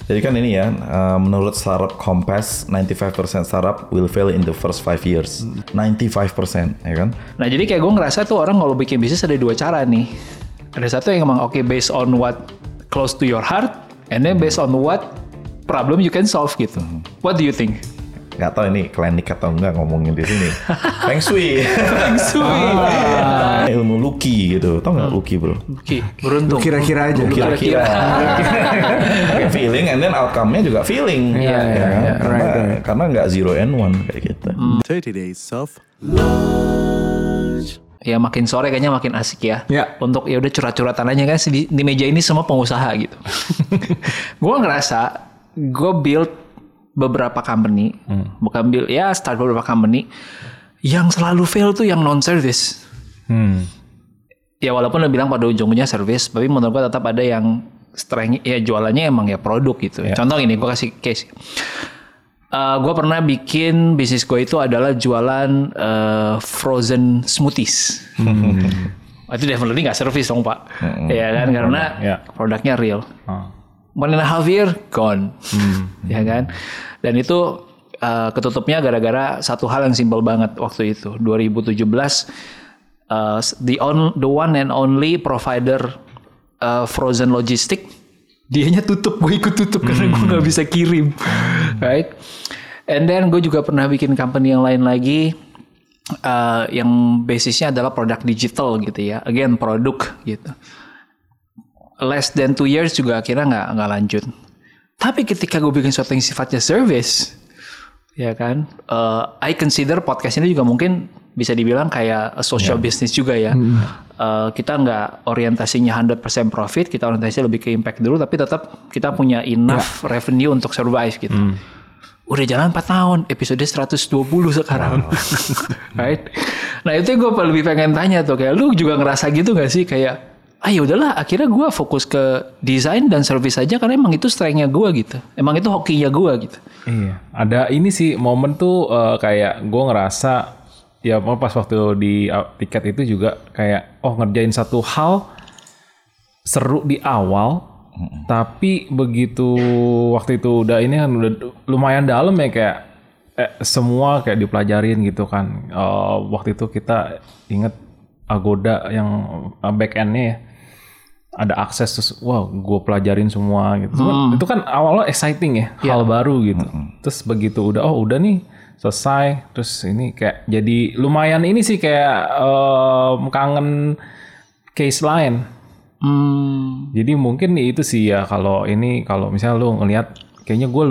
Jadi kan ini ya, menurut startup Compass, 95% startup will fail in the first 5 years. 95%, ya kan? Nah jadi kayak gue ngerasa tuh orang kalau bikin bisnis ada dua cara nih. Ada satu yang emang based on what close to your heart, and then based on what problem you can solve gitu. What do you think? Gak tau ini klinik atau enggak ngomongin di sini. Feng Shui. Feng Shui. Ilmu Lucky gitu. Tau gak Lucky bro? Lucky, beruntung. Kira-kira aja. Kira-kira. Kayak feeling and then outcome-nya juga feeling. Iya, iya, iya. Karena nggak 0 and 1 kayak gitu. 30 days of Ya makin sore kayaknya makin asik ya. Ya. Untuk ya udah curhat-curhatan aja kan di meja ini semua pengusaha gitu. Gue ngerasa gue build beberapa company, start beberapa company yang selalu fail tuh yang non service. Ya walaupun lo bilang pada ujung-ujungnya service, tapi menurut gue tetap ada yang strength ya jualannya emang ya produk gitu. Yeah. Contoh ini gue kasih case. Gue pernah bikin bisnis gue itu adalah jualan frozen smoothies. Itu definitely nggak service dong pak, ya kan karena produknya real. 1.5 year gone, ya kan. Dan itu ketutupnya gara-gara satu hal yang simpel banget waktu itu 2017. The one and only provider frozen logistik, dianya tutup, gue ikut tutup karena gue nggak bisa kirim, right? And then gue juga pernah bikin company yang lain lagi. Yang basisnya adalah produk digital gitu ya, again produk gitu. Less than 2 years juga akhirnya nggak lanjut. Tapi ketika gue bikin sesuatu yang sifatnya service, ya kan, I consider podcast ini juga mungkin bisa dibilang kayak a social business juga ya. Kita nggak orientasinya 100% profit, kita orientasinya lebih ke impact dulu, tapi tetap kita punya enough revenue untuk survive gitu. Udah jalan 4 tahun, episode 120 sekarang. Right? Nah itu yang gue lebih pengen tanya tuh, kayak lu juga ngerasa gitu gak sih kayak, ya udahlah akhirnya gue fokus ke desain dan service aja karena emang itu strength-nya gue gitu. Emang itu hokinya gue gitu. Iya, ada ini sih momen tuh kayak gue ngerasa ya pas waktu di tiket itu juga kayak ngerjain satu hal seru di awal. Tapi begitu waktu itu udah ini kan udah lumayan dalam ya kayak semua kayak dipelajarin gitu kan. Waktu itu kita inget Agoda yang back end-nya ya. Ada akses terus gue pelajarin semua gitu. Itu kan awalnya exciting ya, hal baru gitu. Terus begitu udah nih selesai terus ini kayak jadi lumayan ini sih kayak kangen case lain. Jadi mungkin itu sih ya kalau misalnya lu ngelihat kayaknya gue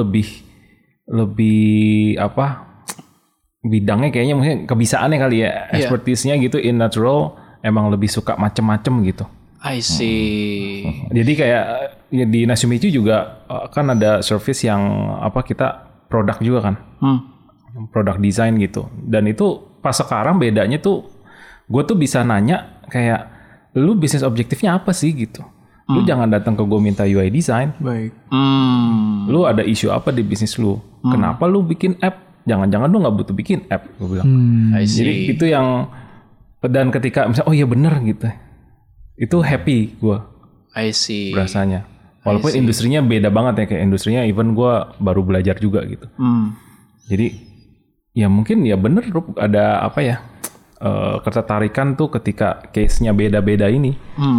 lebih bidangnya kayaknya mungkin kebisaannya kali ya, expertise-nya gitu in natural emang lebih suka macem-macem gitu. I see. Jadi kayak ya di Nasumichu juga kan ada service yang kita produk juga kan, produk design gitu. Dan itu pas sekarang bedanya tuh gue tuh bisa nanya kayak lu bisnis objektifnya apa sih gitu. Lu jangan datang ke gue minta UI design. Baik. Lu ada isu apa di bisnis lu? Kenapa lu bikin app? Jangan-jangan lu nggak butuh bikin app, gue bilang. Jadi itu yang dan ketika misalnya iya bener gitu, itu happy gue. I see. Rasanya. Walaupun industrinya beda banget ya, kayak industrinya even gue baru belajar juga gitu. Jadi ya mungkin ya bener ada ketertarikan tuh ketika case-nya beda-beda ini.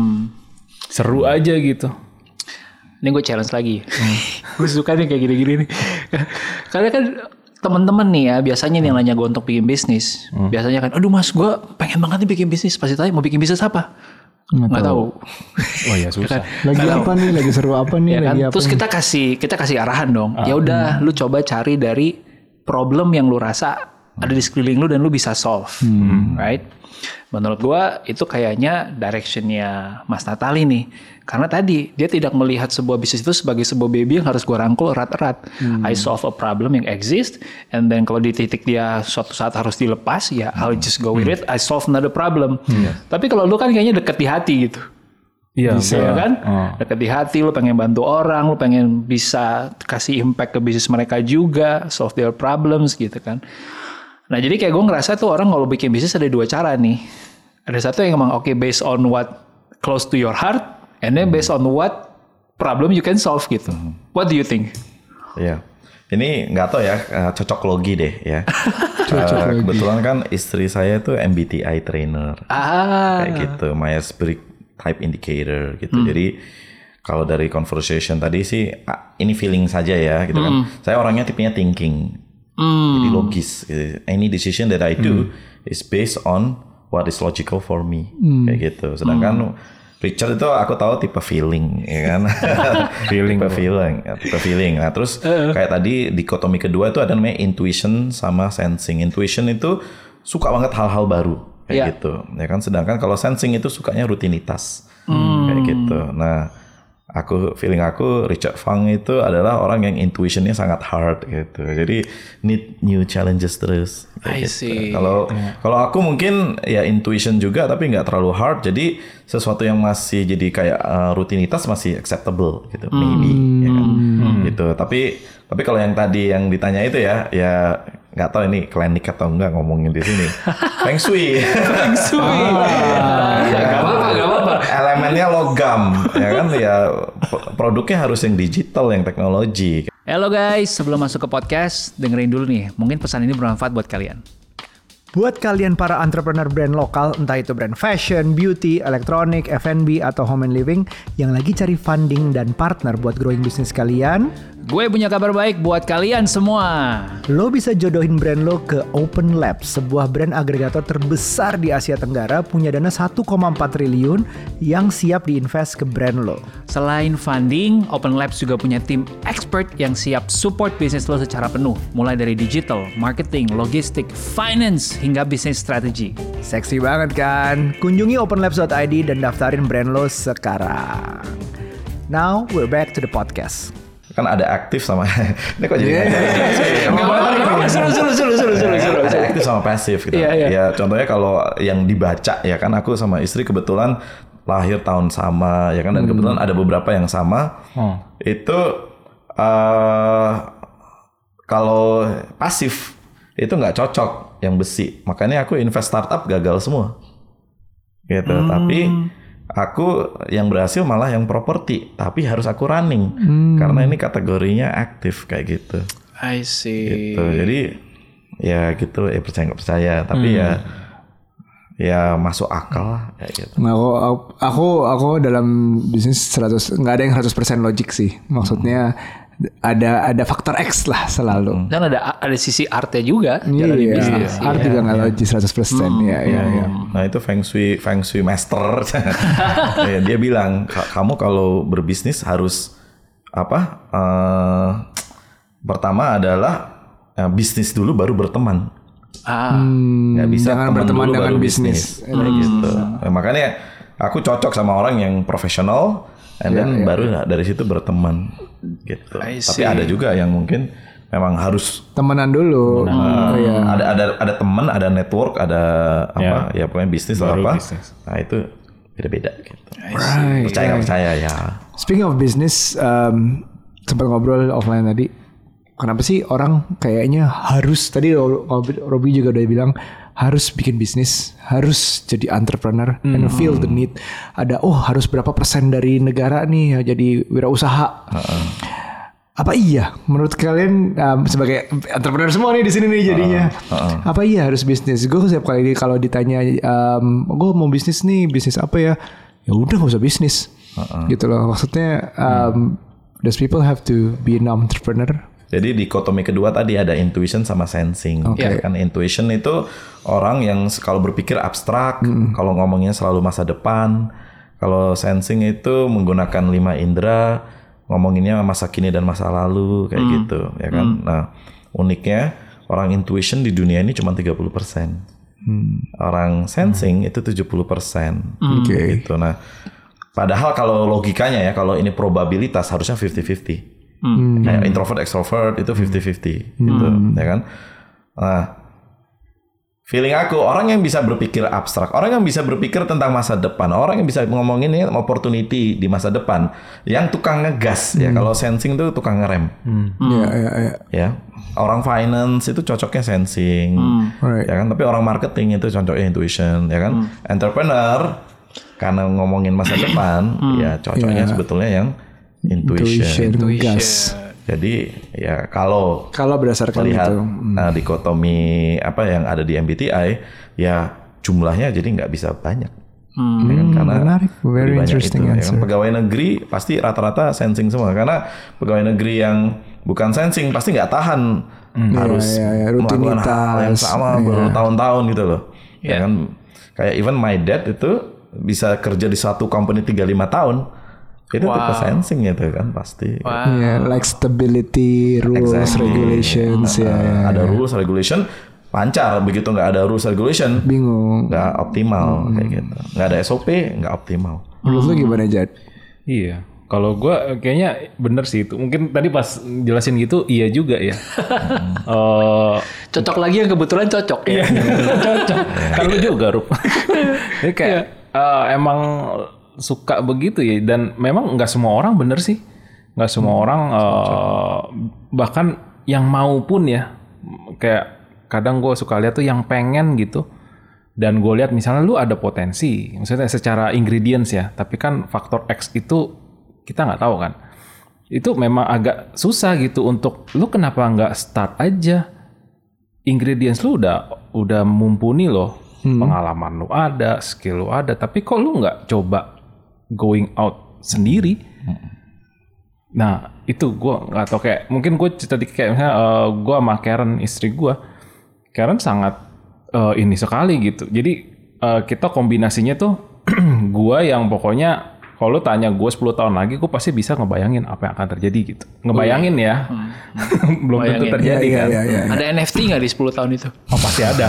Seru aja gitu. Ini gue challenge lagi. Gue suka nih kayak gini-gini nih. Karena kan teman-teman nih ya, biasanya nih yang nanya gue untuk bikin bisnis. Biasanya kan, aduh mas gue pengen banget nih bikin bisnis. Pasti tanya mau bikin bisnis apa? Nggak tahu. Oh ya susah. Lagi apa nih? Lagi seru apa nih? Ya kan? Lagi apa Terus nih? kita kasih arahan dong. Ya udah lu coba cari dari problem yang lu rasa ada di sekeliling lu dan lu bisa solve, right? Menurut gua itu kayaknya directionnya Mas Natali nih, karena tadi dia tidak melihat sebuah bisnis itu sebagai sebuah baby yang harus gua rangkul erat-erat. I solve a problem yang exist, and then kalau di titik dia suatu saat harus dilepas, ya I'll just go with it. I solve another problem. Tapi kalau lu kan kayaknya deket di hati gitu. Iya, ya kan? Deket di hati, lu pengen bantu orang, lu pengen bisa kasih impact ke bisnis mereka juga, solve their problems gitu kan. Nah jadi kayak gue ngerasa tuh orang kalau bikin bisnis ada dua cara nih. Ada satu yang emang based on what close to your heart, and then based on what problem you can solve gitu. What do you think? Iya. Ini nggak tahu ya, cocok logi deh ya. Kebetulan kan istri saya tuh MBTI trainer. Kayak gitu, Myers-Briggs Type Indicator gitu. Jadi kalau dari conversation tadi sih, ini feeling saja ya gitu kan. Saya orangnya tipenya thinking. Jadi logis. Gitu. Any decision that I do is based on what is logical for me. Kayak gitu. Sedangkan Richard itu aku tahu tipe feeling, ya kan? tipe feeling. Nah, terus kayak tadi dikotomi kedua itu ada namanya intuition sama sensing. Intuition itu suka banget hal-hal baru, kayak gitu, ya kan? Sedangkan kalau sensing itu sukanya rutinitas, kayak gitu. Nah, feeling aku Richard Fang itu adalah orang yang intuitionnya sangat hard gitu. Jadi need new challenges terus. I see. Kalau aku mungkin ya intuition juga tapi nggak terlalu hard. Jadi sesuatu yang masih jadi kayak rutinitas masih acceptable gitu, maybe. Ya kan? Gitu. Tapi kalau yang tadi yang ditanya itu ya nggak tahu ini klinik atau enggak ngomongin di sini. Feng Shui. Feng Shui. Gak apa-apa. Elemennya logam, ya kan? Ya produknya harus yang digital, yang teknologi. Halo guys, sebelum masuk ke podcast, dengerin dulu nih. Mungkin pesan ini bermanfaat buat kalian. Buat kalian para entrepreneur brand lokal, entah itu brand fashion, beauty, elektronik, F&B, atau home and living, yang lagi cari funding dan partner buat growing bisnis kalian, gue punya kabar baik buat kalian semua. lo bisa jodohin brand lo ke Open Labs, sebuah brand agregator terbesar di Asia Tenggara, punya dana 1,4 triliun yang siap diinvest ke brand lo. Selain funding, Open Labs juga punya tim expert yang siap support bisnis lo secara penuh. Mulai dari digital, marketing, logistik, finance, hingga bisnis strategi. Seksi banget kan? Kunjungi openlabs.id dan daftarin brand lo sekarang. Now, we're back to the podcast. Kan ada aktif sama ini kok jadi Seru. ada aktif sama pasif gitu. Ya contohnya kalau yang dibaca ya kan aku sama istri kebetulan lahir tahun sama ya kan dan kebetulan ada beberapa yang sama. Itu kalau pasif itu nggak cocok yang besi. Makanya aku invest startup gagal semua. Gitu. Tapi aku yang berhasil malah yang properti, tapi harus aku running karena ini kategorinya aktif kayak gitu. I see. Gitu. Jadi ya gitu, percaya nggak percaya, tapi ya masuk akal lah kayak gitu. Nah, aku dalam bisnis nggak ada yang 100% logik sih. Maksudnya ada faktor X lah selalu. Dan ada sisi artnya juga jalanin bisnis. Art juga nggak logis 100%. Iya. Nah itu Feng Shui master. Ya, dia bilang kamu kalau berbisnis harus pertama adalah bisnis dulu baru berteman. Nggak bisa jangan berteman dulu dengan bisnis. Kayak gitu. Nah, makanya aku cocok sama orang yang profesional. And then baru dari situ berteman gitu. Tapi ada juga yang mungkin memang harus temenan dulu. Ada teman, ada network, ada ya pokoknya bisnis atau apa. Business. Nah itu beda-beda gitu. Percaya nggak percaya ya. Speaking of business, sempat ngobrol offline tadi. Kenapa sih orang kayaknya harus, tadi Robi juga udah bilang harus bikin bisnis, harus jadi entrepreneur and feel the need. Ada harus berapa persen dari negara nih jadi wirausaha. Apa iya menurut kalian sebagai entrepreneur semua nih di sini nih jadinya? Apa iya harus bisnis? Gue setiap kali kalau ditanya gue mau bisnis nih, bisnis apa ya? Ya udah nggak usah bisnis. Gitu loh. Maksudnya does people have to be an entrepreneur? Jadi dikotomi kedua tadi ada intuition sama sensing. Kan intuition itu orang yang kalau berpikir abstrak, kalau ngomongnya selalu masa depan. Kalau sensing itu menggunakan 5 indera, ngomonginnya masa kini dan masa lalu kayak gitu, ya kan. Nah, uniknya orang intuition di dunia ini cuma 30%. Orang sensing itu 70%. Gitu. Nah, padahal kalau logikanya ya, kalau ini probabilitas harusnya 50-50. Kayak introvert extrovert itu 50-50 gitu, ya kan. Nah, feeling aku orang yang bisa berpikir abstrak, orang yang bisa berpikir tentang masa depan, orang yang bisa ngomongin opportunity di masa depan, yang tukang ngegas ya. Kalau sensing tuh tukang ngerem. Ya, orang finance itu cocoknya sensing, ya kan. Tapi orang marketing itu cocoknya intuition, ya kan. Entrepreneur karena ngomongin masa depan, ya cocoknya sebetulnya yang intuition. gas. Jadi ya kalau berdasarkan melihat itu, dikotomi apa yang ada di MBTI, ya jumlahnya jadi nggak bisa banyak. Ya kan? Karena menarik, very banyak interesting itu, ya answer. kan? Pegawai negeri pasti rata-rata sensing semua, karena pegawai negeri yang bukan sensing pasti nggak tahan harus melakukan hal yang sama bertahun-tahun gitu loh. Ya kan, kayak even my dad itu bisa kerja di satu company 35 tahun. Itu tipe sensing itu kan pasti. Like stability, rules, regulations. Ada rules, regulation, lancar. Begitu nggak ada rules, regulation, bingung. Nggak optimal kayak gitu. Nggak ada SOP, nggak optimal. Menurut lu gimana, Jad? Iya. Kalau gue kayaknya bener sih itu. Mungkin tadi pas jelasin gitu, iya juga ya. Cocok lagi yang kebetulan cocok ya. Cocok. Kan lu juga, Rup. Jadi kayak emang suka begitu ya. Dan memang nggak semua orang bener sih. Nggak semua orang bahkan yang mau pun ya. Kayak kadang gue suka lihat tuh yang pengen gitu. Dan gue lihat misalnya lu ada potensi. Maksudnya secara ingredients ya. Tapi kan faktor X itu kita nggak tahu kan. Itu memang agak susah gitu untuk lu kenapa nggak start aja. Ingredients lu udah mumpuni loh. Pengalaman lu ada, skill lu ada. Tapi kok lu nggak coba going out sendiri. Nah itu gue nggak tahu, kayak mungkin gue tadi kayak misalnya gue sama Karen istri gue, Karen sangat ini sekali gitu. Jadi kita kombinasinya tuh gue yang pokoknya kalau lu tanya gue 10 tahun lagi, gue pasti bisa ngebayangin apa yang akan terjadi gitu. Ngebayangin ya. Belum tentu terjadi kan. Ada NFT nggak di 10 tahun itu? Oh pasti ada.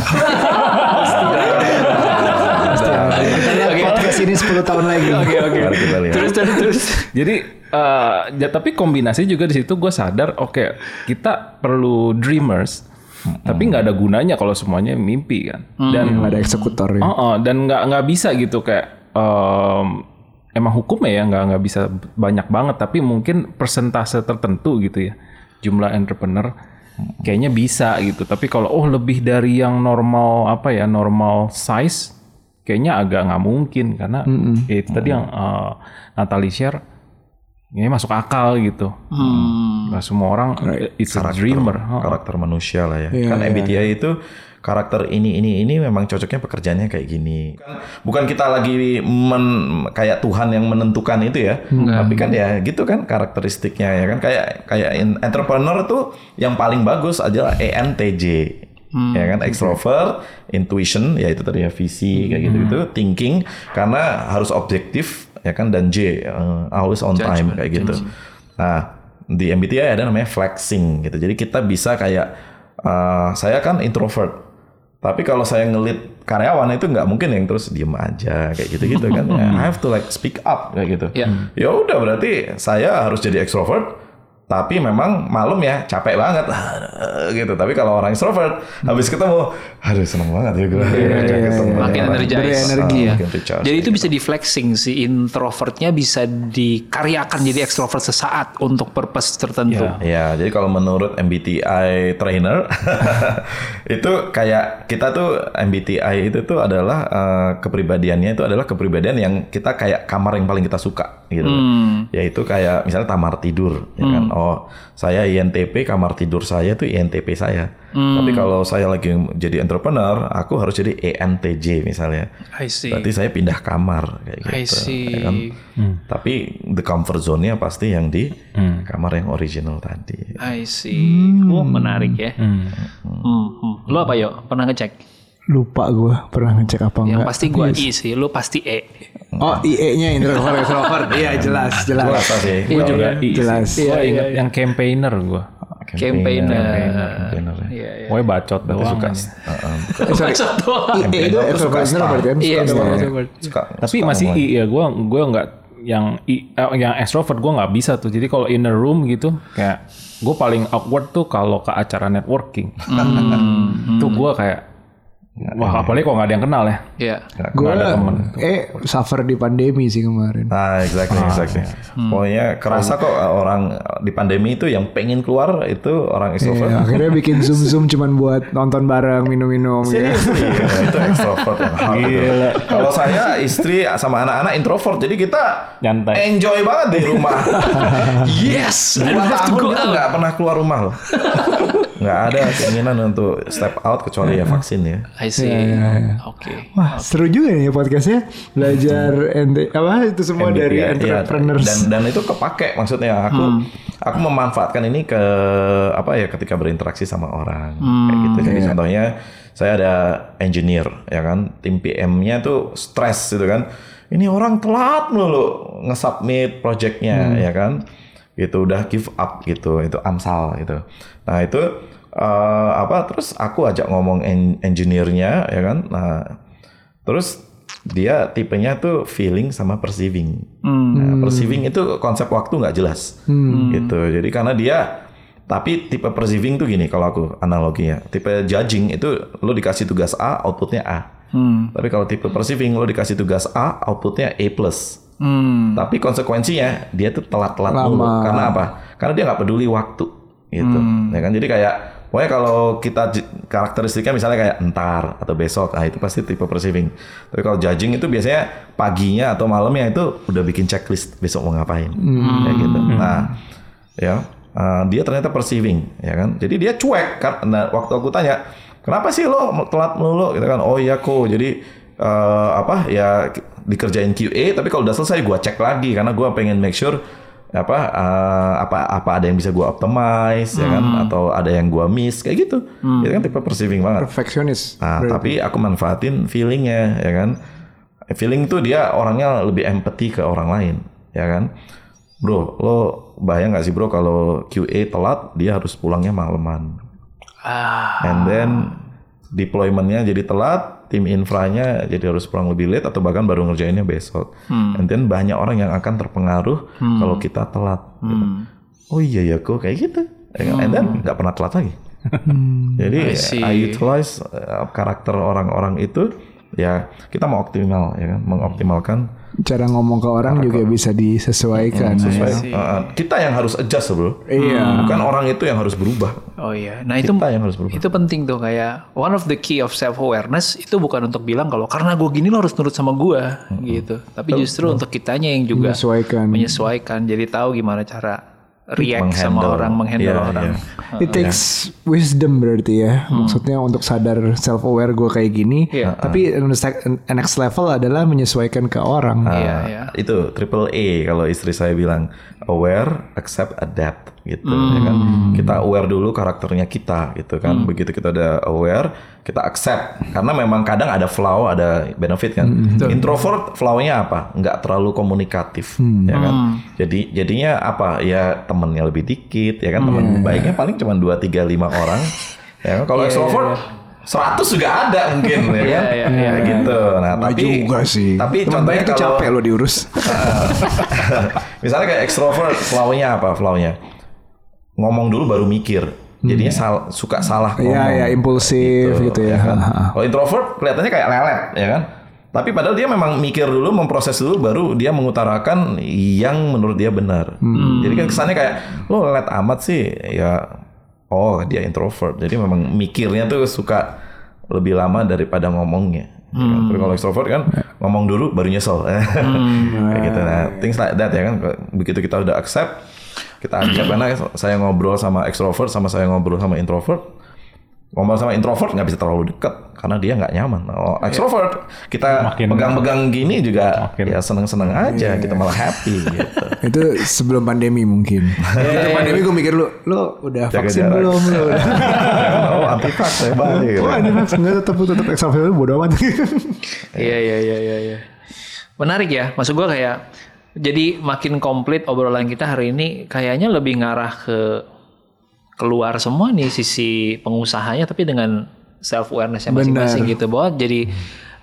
Podcast ini 10 tahun lagi. Oke. Kita lihat. Terus. Jadi tapi kombinasi juga di situ gue sadar, oke, kita perlu dreamers, tapi nggak ada gunanya kalau semuanya mimpi kan. Dan nggak ada eksekutor ya. Dan nggak bisa gitu kayak emang hukumnya ya nggak bisa banyak banget, tapi mungkin persentase tertentu gitu ya jumlah entrepreneur kayaknya bisa gitu. Tapi kalau lebih dari yang normal normal size kayaknya agak nggak mungkin, karena itu tadi yang Natalie share ini masuk akal gitu. Nggak semua orang it's a dreamer. Karakter manusia lah ya. Kan MBTI itu karakter ini memang cocoknya pekerjaannya kayak gini. Bukan kita lagi kayak Tuhan yang menentukan itu ya. Tapi kan ya gitu kan karakteristiknya ya kan, kayak entrepreneur tuh yang paling bagus adalah ENTJ. Ya kan, extrovert, intuition, ya itu tadi ya, visi kayak gitu, thinking karena harus objektif ya kan, dan J always on time kayak gitu. Nah, di MBTI ada namanya flexing gitu. Jadi kita bisa kayak saya kan introvert. Tapi kalau saya ngelit karyawan itu nggak mungkin yang terus diem aja kayak gitu-gitu kan. I have to like speak up kayak gitu. Ya udah berarti saya harus jadi extrovert. Tapi memang malam ya capek banget gitu. Tapi kalau orang extrovert habis ketemu, aduh seneng banget ya gue. Makin energi ya. Jadi itu bisa di flexing, si introvertnya bisa dikaryakan jadi extrovert sesaat untuk purpose tertentu. Ya, jadi kalau menurut MBTI trainer itu kayak kita tuh MBTI itu tuh adalah kepribadiannya itu adalah kepribadian yang kita kayak kamar yang paling kita suka gitu. Yaitu kayak misalnya kamar tidur ya kan. Oh, saya INTP, kamar tidur saya tuh INTP saya. Tapi kalau saya lagi jadi entrepreneur, aku harus jadi ENTJ misalnya. I see. Berarti saya pindah kamar kayak gitu. I see. Ya kan? Tapi the comfort zone-nya pasti yang di kamar yang original tadi. I see. Menarik ya. Lu apa yuk? Pernah ngecek? Lupa gue pernah ngecek apa enggak. Yang pasti gue I sih, lu pasti E. Oh, IE-nya introvert. Iya, jelas. Gue rasa sih. Gue juga jelas. Gue inget yang campaigner gue. Campaigner. Iya. Pokoknya bacot doang. Bacot doang. IE itu extrovert berarti kan? Iya, Tapi masih I ya, gue nggak yang extrovert gue nggak bisa tuh. Jadi kalau in a room gitu, kayak gue paling awkward tuh kalau ke acara networking. Tuh gue kayak Wah, apalagi kok nggak ada yang kenal ya. Iya. Gue suffer di pandemi sih kemarin. Nah, exactly. Pokoknya kerasa kok orang di pandemi itu yang pengen keluar itu orang extrovert. Iya, akhirnya bikin zoom cuman buat nonton bareng, minum-minum. Ya. Itu extrovert yang hard itu. Kalau saya istri sama anak-anak introvert, jadi kita Nyantai. enjoy banget di rumah. Yes. 2 tahun kita nggak pernah keluar rumah loh. Nggak ada keinginan untuk step out kecuali ya vaksin ya. I see. Oke. Wah, seru juga nih ya podcastnya. Belajar itu semua MBTI, dari iya, entrepreneurs. Dan itu kepake maksudnya aku memanfaatkan ini ke ketika berinteraksi sama orang kayak gitu. Jadi contohnya saya ada engineer ya kan, tim PM-nya tuh stres gitu kan. Ini orang telat mulu nge-submit project-nya ya kan. Gitu udah give up gitu, itu AMSAL gitu. Nah, itu terus aku ajak ngomong engineer-nya ya kan. Nah, terus dia tipenya tuh feeling sama perceiving. Nah, perceiving itu konsep waktu nggak jelas gitu. Jadi karena dia tapi tipe perceiving tuh gini kalau aku analoginya. Tipe judging itu lo dikasih tugas A, outputnya A. Tapi kalau tipe perceiving lo dikasih tugas A, outputnya A+. Tapi konsekuensinya dia tuh telat-telat dulu. Karena apa? Karena dia nggak peduli waktu gitu. Ya kan? Jadi kayak pokoknya kalau kita karakteristiknya misalnya kayak entar atau besok, itu pasti tipe perceiving. Tapi kalau judging itu biasanya paginya atau malamnya itu udah bikin checklist besok mau ngapain, kayak gitu. Nah, ya dia ternyata perceiving, ya kan. Jadi dia cuek. Nah, waktu aku tanya, kenapa sih lo telat melulu? Gitu kan? Oh iya kok. Jadi dikerjain QA, tapi kalau udah selesai gue cek lagi karena gue pengen make sure apa ada yang bisa gue optimize ya kan, atau ada yang gue miss kayak gitu. Itu kan tipe perceiving banget. Perfeksionis. Nah, tapi aku manfaatin feelingnya ya kan. Feeling itu dia orangnya lebih empathy ke orang lain ya kan. Bro, lo bayang nggak sih bro kalau QA telat dia harus pulangnya malaman. And then deployment-nya jadi telat, tim infranya jadi harus pulang lebih late atau bahkan baru ngerjainnya besok. And then banyak orang yang akan terpengaruh kalau kita telat. Gitu. Oh iya ya kok kayak gitu. And then nggak pernah telat lagi. Jadi I utilize karakter orang-orang itu. Ya kita mau optimal ya kan, mengoptimalkan cara ngomong ke orang juga bisa disesuaikan. Kita yang harus adjust bro. Iya. Bukan orang itu yang harus berubah. Oh iya. Nah kita yang harus berubah. Itu penting tuh, kayak one of the key of self awareness itu bukan untuk bilang kalau karena gue gini lo harus nurut sama gue gitu. Tapi justru untuk kitanya yang juga menyesuaikan. Jadi tahu gimana cara react sama orang, menghandle orang. It takes wisdom berarti ya. Maksudnya untuk sadar self aware gue kayak gini. Tapi next level adalah menyesuaikan ke orang. Itu triple A kalau istri saya bilang, aware, accept, adapt gitu ya kan. Kita aware dulu karakternya kita gitu kan. Begitu kita udah aware, kita accept karena memang kadang ada flaw, ada benefit kan. Introvert flawnya apa? Nggak terlalu komunikatif ya kan. Jadinya apa? Ya temennya lebih dikit ya kan. Teman baiknya paling cuma 2, 3, 5 orang. Ya kan. Kalau extrovert 100 juga ada mungkin ya kan. Gitu. Nah, tapi juga sih. Tapi teman contohnya kalau capek lo diurus. Misalnya kayak extrovert, flawnya apa? Flawnya ngomong dulu baru mikir. Jadinya suka salah ngomong. Iya, impulsif gitu ya. Kan? Kalau introvert kelihatannya kayak lelet, ya kan? Tapi padahal dia memang mikir dulu, memproses dulu, baru dia mengutarakan yang menurut dia benar. Jadi kan kesannya kayak, lo lelet amat sih, ya. Oh, dia introvert. Jadi memang mikirnya tuh suka lebih lama daripada ngomongnya. Tapi kalau extrovert kan ngomong dulu baru nyesel. Kayak gitu. Nah, things like that ya kan. Begitu kita udah accept, kita ajak karena saya ngobrol sama extrovert sama saya ngobrol sama introvert. Ngobrol sama introvert nggak bisa terlalu dekat karena dia nggak nyaman. Oh, extrovert kita pegang-pegang gini juga ya seneng-seneng aja, kita malah happy gitu. Itu sebelum pandemi mungkin. Sebelum pandemi gue mikir lu udah vaksin belum lu? Oh, anti vax saya balik. Oh, anti vax enggak, tetap extrovert bodo amat. Iya. Menarik ya. Maksud gue kayak jadi makin komplit obrolan kita hari ini, kayaknya lebih ngarah ke keluar semua nih sisi pengusahanya, tapi dengan self awareness-nya masing-masing gitu, bahwa jadi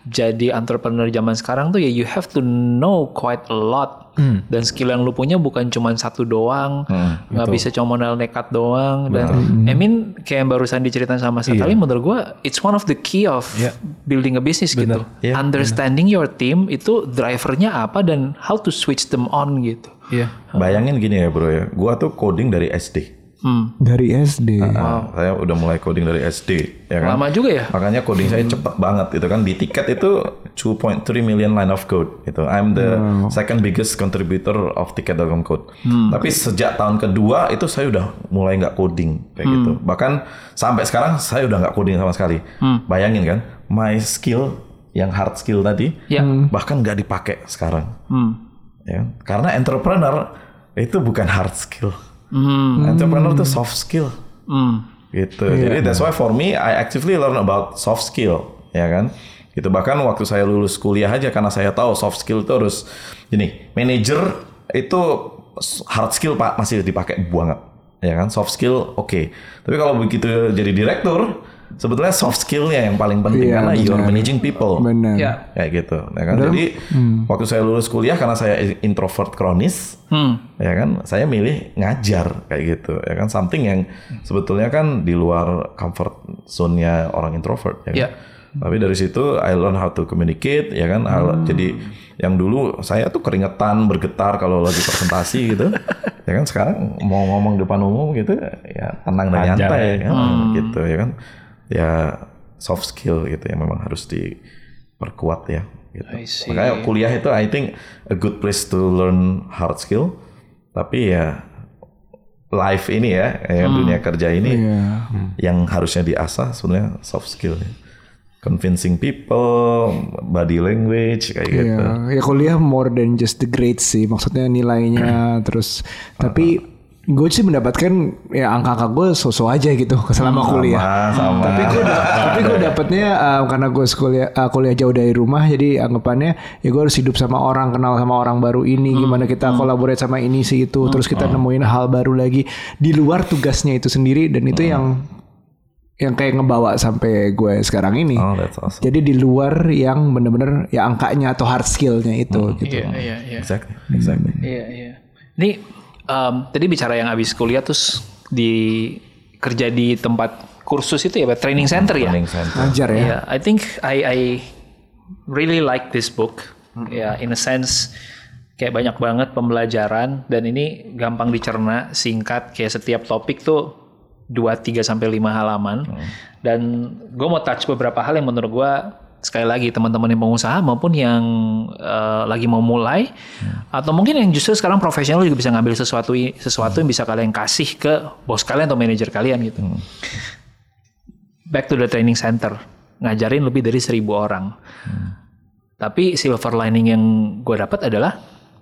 jadi entrepreneur zaman sekarang tuh ya you have to know quite a lot. Dan skill yang lu punya bukan cuma satu doang, nggak bisa cuma modal nekat doang. Dan I mean kayak yang barusan diceritain sama sekali, menurut gue it's one of the key of building a business gitu. Understanding your team itu drivernya apa dan how to switch them on gitu. Bayangin gini ya bro ya, gua tuh coding dari SD. Dari SD. Saya udah mulai coding dari SD, ya kan? Lama juga ya? Makanya coding saya cepet banget, itu kan di tiket itu 2.3 million line of code. Itu I'm the second biggest contributor of ticket.com code. Tapi sejak tahun kedua itu saya udah mulai nggak coding kayak gitu. Bahkan sampai sekarang saya udah nggak coding sama sekali. Bayangin kan, my skill yang hard skill tadi bahkan nggak dipakai sekarang. Ya, karena entrepreneur itu bukan hard skill. Entrepreneur itu soft skill, gitu. Jadi that's why for me I actively learn about soft skill, ya kan? Gitu. Bahkan waktu saya lulus kuliah aja karena saya tahu soft skill itu harus, gini, manager itu hard skill pak masih dipakai banget, ya kan? Soft skill oke. Tapi kalau begitu jadi direktur, sebetulnya soft skillnya yang paling penting karena you are managing people. Benar. Kayak gitu, ya kan? Jadi waktu saya lulus kuliah karena saya introvert kronis, ya kan, saya milih ngajar kayak gitu, ya kan, something yang sebetulnya kan di luar comfort zone-nya orang introvert, ya kan? Tapi dari situ I learn how to communicate, ya kan. Jadi yang dulu saya tuh keringetan, bergetar kalau lagi presentasi gitu, ya kan. Sekarang mau ngomong depan umum gitu, ya tenang dan nyantai, ya, gitu, ya kan. Ya soft skill gitu yang memang harus diperkuat ya. Gitu. Makanya kuliah itu I think a good place to learn hard skill. Tapi ya life ini ya, dunia kerja ini yang harusnya diasah sebenarnya soft skill. Ya. Convincing people, body language kayak gitu. Ya kuliah more than just the grades sih, maksudnya nilainya terus. Tapi gue sih mendapatkan ya angka-angka gue so-so aja gitu selama kuliah. Sama. Tapi gue dapatnya karena gue kuliah jauh dari rumah, jadi anggapannya ya gue harus hidup sama orang, kenal sama orang baru ini, gimana kita collaborate sama ini sih itu, terus kita nemuin hal baru lagi di luar tugasnya itu sendiri, dan itu yang kayak ngebawa sampai gue sekarang ini. That's awesome. Jadi di luar yang bener-bener ya angkanya atau hard skillnya itu gitu. Iya. Exactly. Iya. Ini tadi bicara yang habis kuliah terus kerja di tempat kursus itu ya, training center ya. Ngajar ya. Yeah, I think I really like this book. Ya, in a sense kayak banyak banget pembelajaran dan ini gampang dicerna, singkat, kayak setiap topik tuh 2, 3 sampai 5 halaman. Dan gue mau touch beberapa hal yang menurut gue sekali lagi teman-teman yang pengusaha maupun yang lagi mau mulai atau mungkin yang justru sekarang profesional juga bisa ngambil sesuatu yang bisa kalian kasih ke bos kalian atau manajer kalian gitu. Back to the training center, ngajarin lebih dari 1,000 orang. Tapi silver lining yang gue dapat adalah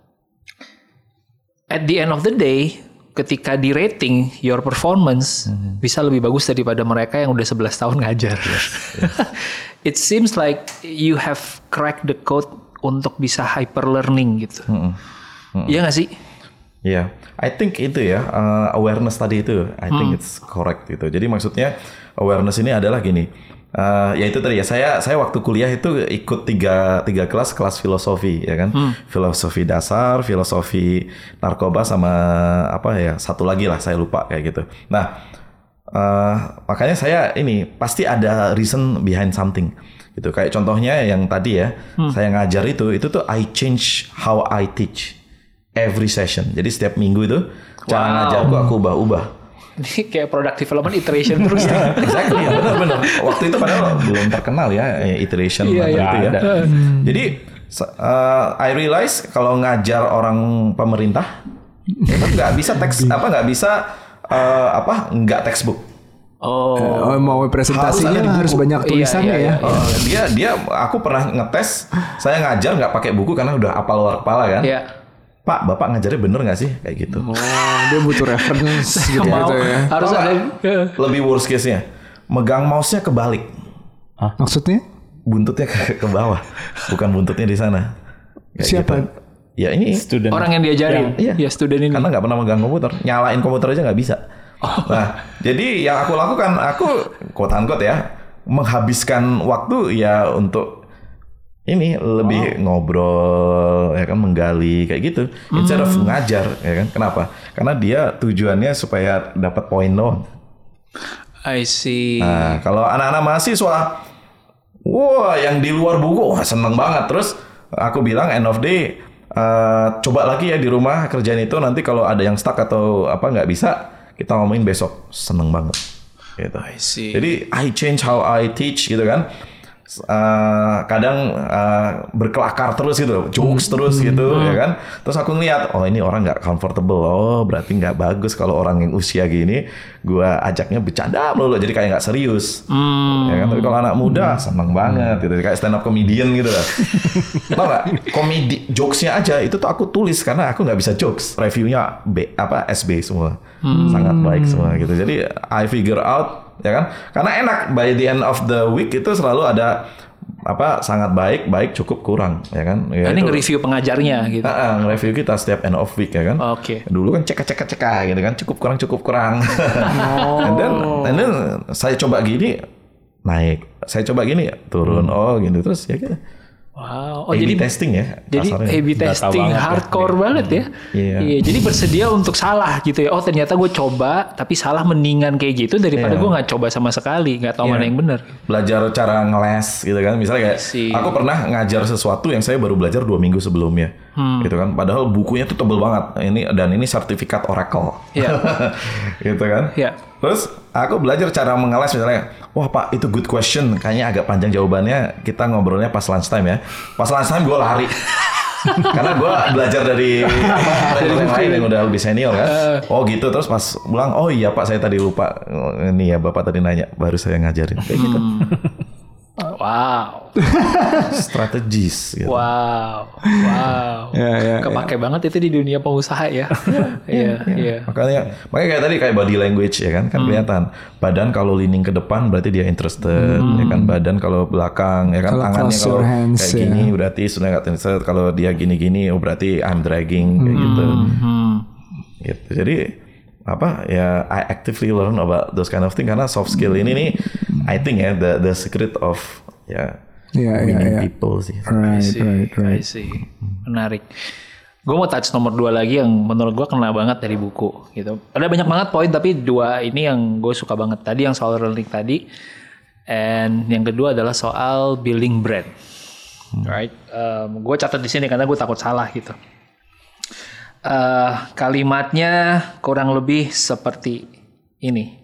at the end of the day ketika di rating your performance bisa lebih bagus daripada mereka yang udah 11 tahun ngajar. It seems like you have cracked the code untuk bisa hyper learning gitu. Iya nggak sih? Iya, I think itu ya awareness tadi itu, I think it's correct gitu. Jadi maksudnya awareness ini adalah gini, ya itu tadi ya saya waktu kuliah itu ikut tiga kelas filosofi ya kan, filosofi dasar, filosofi narkoba sama apa ya satu lagi lah saya lupa kayak gitu. Nah makanya saya ini pasti ada reason behind something gitu. Kayak contohnya yang tadi ya, saya ngajar itu tuh I change how I teach every session. Jadi setiap minggu itu cara ngajarku aku ubah-ubah. Ini kayak product development iteration terus ya. Exactly, ya, benar. Waktu itu padahal belum terkenal ya iteration itu ya. Jadi I realize kalau ngajar orang pemerintah itu nggak bisa nggak textbook. Mau presentasinya harus banyak tulisannya ya. Dia aku pernah ngetes, saya ngajar nggak pakai buku karena udah apal luar kepala kan. Iya. Pak, Bapak ngajarnya bener nggak sih kayak gitu? Dia butuh reference gitu ya. Harus ada. Lebih worst case-nya, megang mouse-nya kebalik. Maksudnya? Buntutnya ke bawah, bukan buntutnya di sana. Kayak siapa? Gitu. Ya ini student. Orang yang diajarin. Iya, student ini. Karena nggak pernah megang komputer, nyalain komputer aja nggak bisa. Nah, jadi yang aku lakukan, aku quote unquote ya, menghabiskan waktu ya untuk ini lebih ngobrol ya kan, menggali kayak gitu instead of ngajar ya kan. Kenapa? Karena dia tujuannya supaya dapat poin doang. I see. Nah, kalau anak-anak mahasiswa, wah yang di luar buku, wah seneng banget. Terus aku bilang end of day, coba lagi ya di rumah kerjaan itu. Nanti kalau ada yang stuck atau apa nggak bisa, kita ngomongin besok. Seneng banget. Gitu. I see. Jadi I change how I teach gitu kan. Kadang berkelakar terus gitu, jokes terus gitu ya kan. Terus aku ngeliat, oh ini orang nggak comfortable, oh berarti nggak bagus kalau orang yang usia gini gua ajaknya bercanda melulu, jadi kayak nggak serius ya kan. Tapi kalau anak muda seneng banget gitu, kayak stand up comedian gitu lah. Tau nggak, komedi jokesnya aja itu tuh aku tulis karena aku nggak bisa jokes, reviewnya SB semua, sangat baik semua gitu. Jadi I figure out ya kan, karena enak by the end of the week itu selalu ada sangat baik, cukup, kurang ya kan. Ya, ini nge-review pengajarnya gitu. Nge-review kita setiap end of week ya kan. Oke. Dulu kan cek gitu kan, cukup kurang. And then saya coba gini naik, saya coba gini turun, gitu terus ya gitu. Wow. Oh, jadi testing ya. Jadi A/B testing hardcore banget ya. Iya. Jadi bersedia untuk salah gitu ya. Oh ternyata gue coba tapi salah, mendingan kayak gitu daripada gue nggak coba sama sekali, nggak tahu mana yang benar. Belajar cara ngeles gitu kan. Misalnya kayak aku pernah ngajar sesuatu yang saya baru belajar 2 minggu sebelumnya. Gitu kan. Padahal bukunya tuh tebel banget. Ini sertifikat Oracle. Iya. Gitu kan. Iya. Terus aku belajar cara mengeles misalnya, wah Pak itu good question, kayaknya agak panjang jawabannya, kita ngobrolnya pas lunchtime ya. Pas lunchtime gue lari. Karena gue belajar dari yang lain yang udah lebih senior kan. Oh gitu, terus pas pulang, oh iya Pak saya tadi lupa, ini ya Bapak tadi nanya, baru saya ngajarin. Kayak gitu. Wow. Strategis gitu. Wow. Kepake banget itu di dunia pengusaha ya. Iya. Makanya kayak tadi kayak body language ya kan kelihatan. Badan kalau leaning ke depan berarti dia interested ya kan. Badan kalau belakang ya kan, tangannya kalau kayak gini berarti sudah nggak interested. Kalau dia gini-gini oh berarti I'm dragging kayak gitu. Gitu. Jadi I actively learn about those kind of thing karena soft skill ini nih I think ya the secret of winning people sih. Right. I see. Menarik. Gue mau touch nomor 2 lagi yang menurut gue kena banget dari buku gitu. Ada banyak banget poin tapi 2 ini yang gue suka banget. Tadi yang soal learning tadi, and yang kedua adalah soal building brand. Right? Gue catat di sini karena gue takut salah gitu. Kalimatnya kurang lebih seperti ini.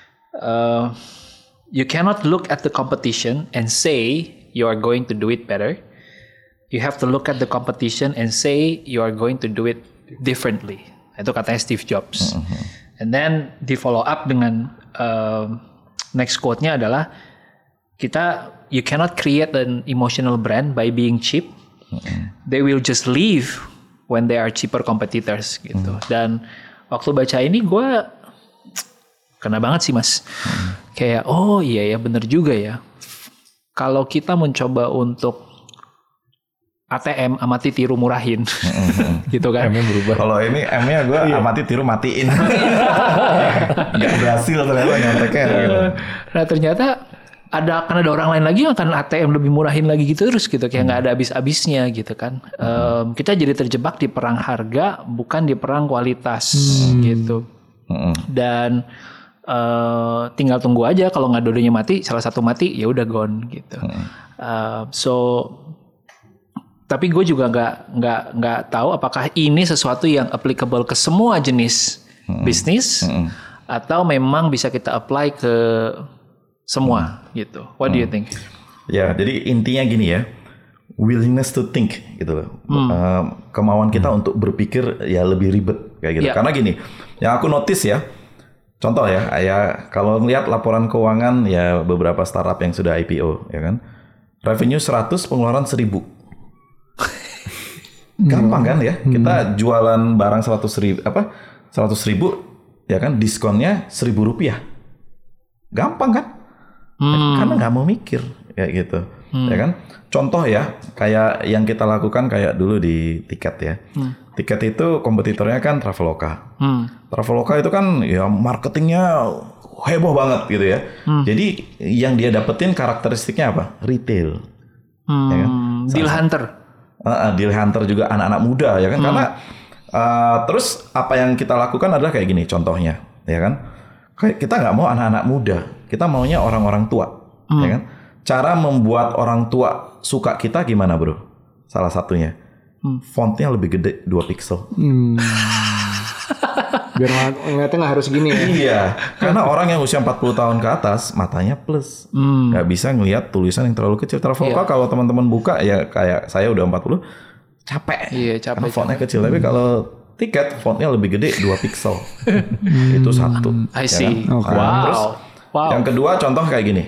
You cannot look at the competition and say you are going to do it better. You have to look at the competition and say you are going to do it differently. Itu katanya Steve Jobs. And then di follow up dengan next quote-nya adalah you cannot create an emotional brand by being cheap. They will just leave when they are cheaper competitors gitu. Dan waktu baca ini gue kena banget sih mas. Kayak oh iya ya bener juga ya. Kalau kita mencoba untuk ATM amati tiru murahin gitu kan. M-nya berubah. Kalau ini M-nya gue amati tiru matiin. Gak berhasil ternyata nyonteknya gitu. Nah ternyata kan ada orang lain lagi yang akan ATM lebih murahin lagi gitu terus gitu, kayak nggak ada habis-habisnya gitu kan. Kita jadi terjebak di perang harga bukan di perang kualitas gitu. Dan tinggal tunggu aja kalau nggak dua-duanya mati, salah satu mati ya udah gone gitu. Tapi gue juga nggak tahu apakah ini sesuatu yang applicable ke semua jenis bisnis atau memang bisa kita apply ke semua gitu. What do you think? Ya, jadi intinya gini ya, willingness to think gitu loh. Kemauan kita untuk berpikir ya lebih ribet kayak gitu. Karena gini, yang aku notice ya, contoh ya kalau melihat laporan keuangan ya beberapa startup yang sudah IPO ya kan, revenue 100, pengeluaran 1000. Gampang kan ya, kita jualan barang 100.000 ya kan, diskonnya Rp1.000. Gampang kan? Karena nggak mau mikir kayak gitu, ya kan? Contoh ya, kayak yang kita lakukan kayak dulu di tiket ya. Tiket itu kompetitornya kan Traveloka. Traveloka itu kan ya marketingnya heboh banget gitu ya. Jadi yang dia dapetin karakteristiknya apa? Retail, ya kan? Deal Hunter. Deal Hunter juga anak-anak muda ya kan. Karena terus apa yang kita lakukan adalah kayak gini contohnya ya kan. Kayak kita nggak mau anak-anak muda, kita maunya orang-orang tua ya kan. Cara membuat orang tua suka kita gimana bro? Salah satunya fontnya lebih gede 2 pixel. Biar ngeliatnya nggak harus gini ya. Iya, karena orang yang usia 40 tahun ke atas matanya plus, nggak bisa ngelihat tulisan yang terlalu kecil. Traveloka kalau teman-teman buka ya kayak saya udah 40 capek. Iya, capek. Karena fontnya kecil, tapi kalau tiket fontnya lebih gede 2 pixel. Itu satu. I see. Ya kan? Okay. Nah, terus Wow. yang kedua contoh kayak gini.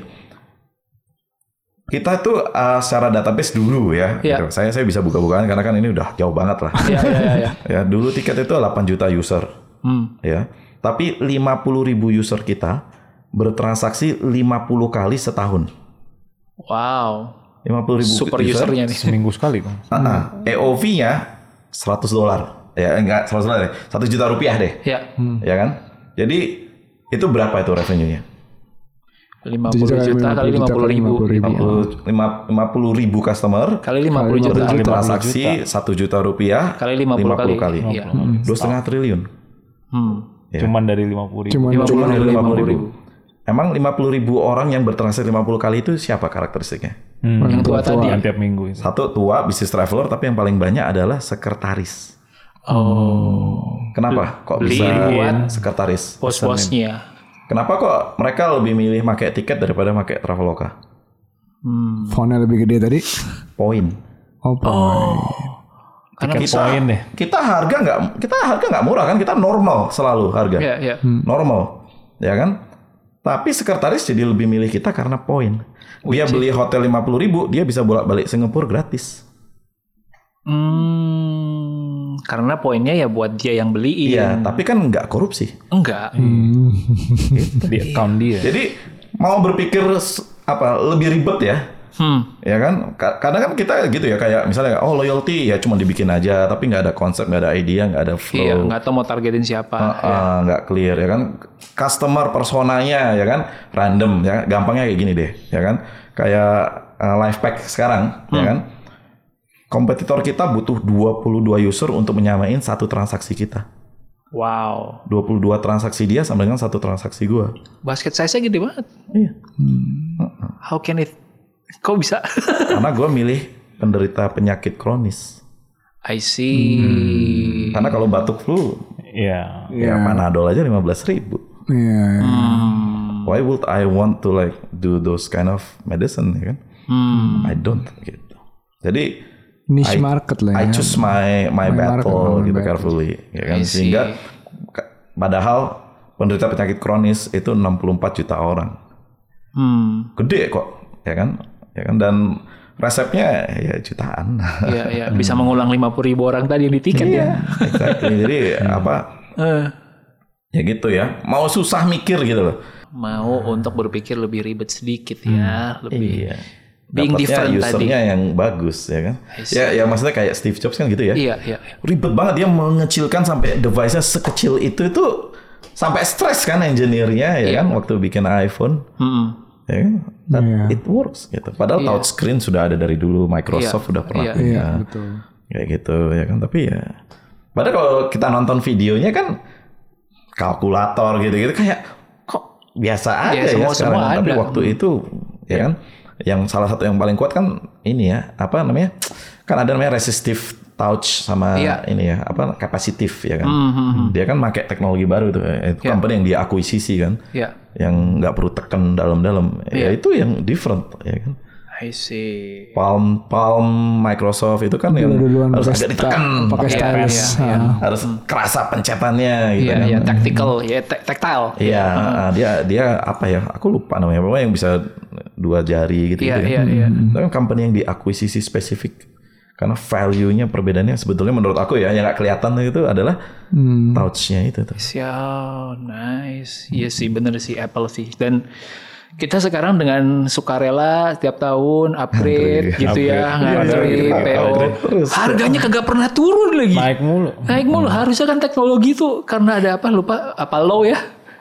Kita tuh secara database dulu ya. Iya. Gitu. Saya bisa buka-bukaan karena kan ini udah jauh banget lah. Iya. Ya, dulu tiket itu 8 juta user. Ya. Tapi 50.000 user kita bertransaksi 50 kali setahun. Wow. 50.000 Super usernya nih. Seminggu sekali kan. EOV-nya $100. Ya enggak $100 deh. 1 juta rupiah deh. Ya. Ya kan? Jadi itu berapa itu revenue-nya? 50 juta kali 50.000. 50.000 customer Kali 50 juta. transaksi 1 juta rupiah Kali 50 kali. Iya. 2,5 triliun. Ya. Cuman dari 50.000. Cuma dari 50.000. Emang 50.000 orang yang bertransaksi 50 kali itu siapa karakteristiknya? Yang tua tadi. Yang tiap minggu itu. Satu tua business traveler, tapi yang paling banyak adalah sekretaris. Kenapa? Kok bisa buat sekretaris? Bos-bosnya. Kenapa kok mereka lebih milih pakai tiket daripada pakai Traveloka? Fontnya lebih gede tadi. Poin. Karena Poin deh. Kita harga nggak murah kan? Kita normal selalu harga. Iya. Normal, ya kan? Tapi sekretaris jadi lebih milih kita karena poin. Dia beli hotel 50.000, dia bisa bolak-balik Singapura gratis. Karena poinnya ya buat dia yang beliin. Iya, tapi kan nggak korupsi. Enggak. Di account dia. Jadi mau berpikir lebih ribet ya. Ya kan? Kadang kan kita gitu ya, kayak misalnya loyalty ya cuma dibikin aja, tapi nggak ada konsep, nggak ada idea, nggak ada flow. Iya, nggak tahu mau targetin siapa. Nggak clear ya kan? Customer personanya ya kan random ya, gampangnya kayak gini deh ya kan? Kayak Lifepack sekarang ya kan? Kompetitor kita butuh 22 user untuk menyamain satu transaksi kita. Wow. 22 transaksi dia sama dengan satu transaksi gua. Basket size-nya gede banget. Iya. How can it? Kok bisa? Karena gue milih penderita penyakit kronis. I see. Karena kalau batuk flu, Iya. ya Panadol aja 15.000. Iya. Why would I want to like do those kind of medicine, ya kan? I don't gitu. Jadi Niche market lah ya. I choose my battle gitu carefully, ya kan? I see. Sehingga padahal penderita penyakit kronis itu 64 juta orang. Gede kok, ya kan? Ya kan, dan resepnya ya jutaan. Iya. Bisa mengulang 50.000 orang tadi yang di tiket ya. Exactly. Jadi ya gitu ya. Mau susah mikir gitu loh. Mau untuk berpikir lebih ribet sedikit ya, lebih Iya. being Dapatnya different tadi. usernya yang bagus ya kan. Ya maksudnya kayak Steve Jobs kan gitu ya. Iya. Ribet banget dia mengecilkan sampai device-nya sekecil itu sampai stres kan engineer-nya ya kan waktu bikin iPhone. Ya kan? It works gitu. Padahal touchscreen sudah ada dari dulu, Microsoft udah pernah punya. Iya, betul. Kayak gitu ya kan, tapi ya padahal kalau kita nonton videonya kan kalkulator gitu-gitu kayak kok biasa aja ya sekarang. Tapi waktu itu ya kan, yang salah satu yang paling kuat kan ini ya, apa namanya? Kan ada namanya resistive touch sama ini ya, apa capacitive ya kan. Dia kan pakai teknologi baru itu company yang dia akuisisi kan. Yang nggak perlu tekan dalam-dalam. Ya itu yang different ya kan. I see. Palm Microsoft itu kan yang harus agak ditekan pakai stylus. Harus kerasa pencetannya gitu kan. Iya, tactical, ya tactile. Iya, dia apa ya? Aku lupa namanya. Pokoknya yang bisa 2 jari gitu. Iya. Itu kan company yang diakuisisi spesifik. Karena value-nya perbedaannya sebetulnya menurut aku ya yang nggak kelihatan itu adalah touch-nya itu tuh. Nice. Iya sih, bener sih Apple sih. Dan kita sekarang dengan sukarela setiap tahun upgrade gitu ya, ngantri PO. Harganya kagak pernah turun lagi. Naik mulu. Harusnya kan teknologi tuh karena ada apa lupa apa low ya.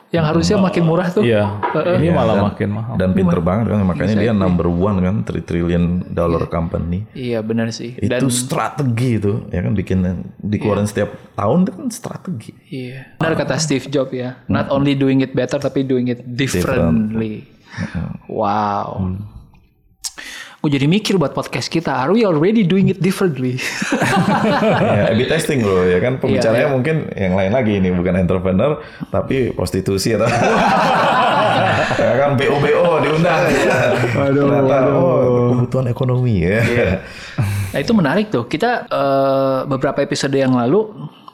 Yang harusnya makin murah tuh. Iya. Ini malah makin mahal. Dan pinter banget kan, makanya dia number one kan, $3 trillion company. Iya benar sih. Itu strategi itu, ya kan, bikin dikeluarin setiap tahun itu kan strategi. Iya. Benar kata Steve Jobs ya. Not only doing it better, tapi doing it differently. Wow. Gue jadi mikir buat podcast kita, are we already doing it differently? Ya, A/B testing loh, ya kan, pembicaranya mungkin yang lain lagi, ini bukan entrepreneur tapi prostitusi atau ya kan, BO diundang. Ternyata kebutuhan ekonomi ya. Nah itu menarik tuh. Kita beberapa episode yang lalu,